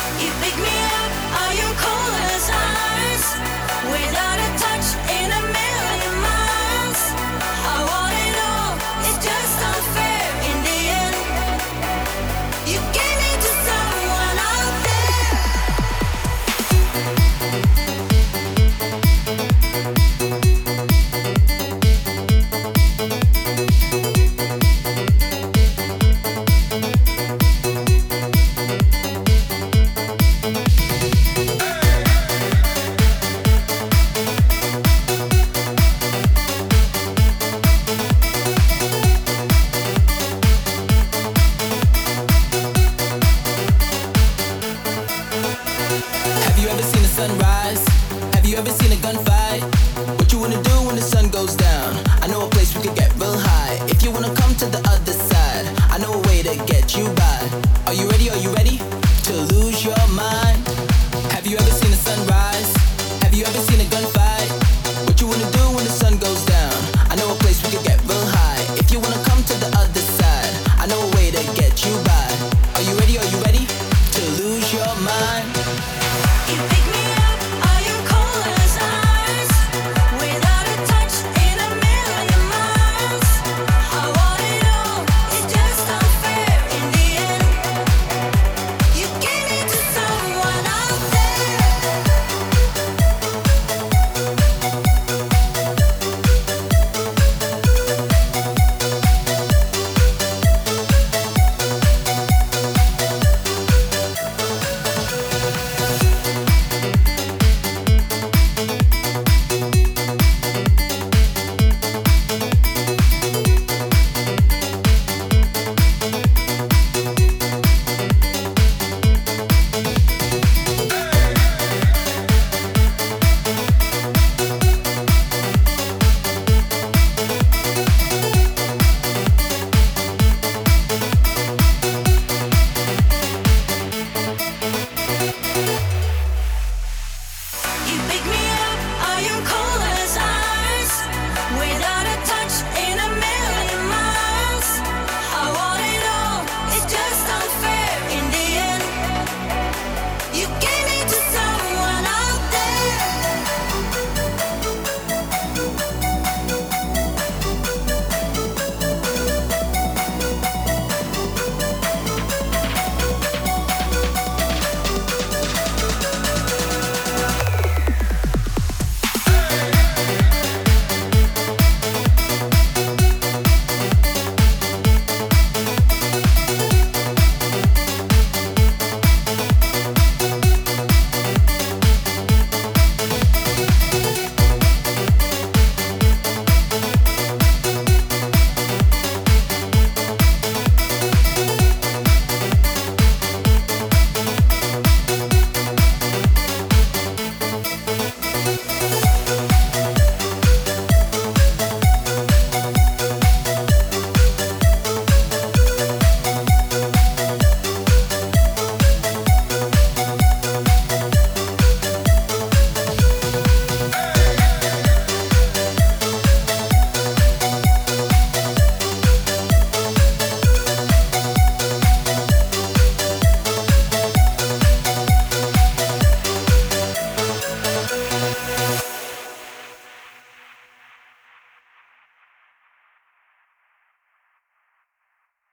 You pick me up, are you cold as ice? Without a touch in a million miles. I want it all, it's just unfair in the end. You gave me to someone out there. Have you ever seen the sunrise? Have you ever seen a gunfight? What you wanna do when the sun goes down? I know a place we could get real high. If you wanna come to the other side, I know a way to get you by. Are you ready? Are you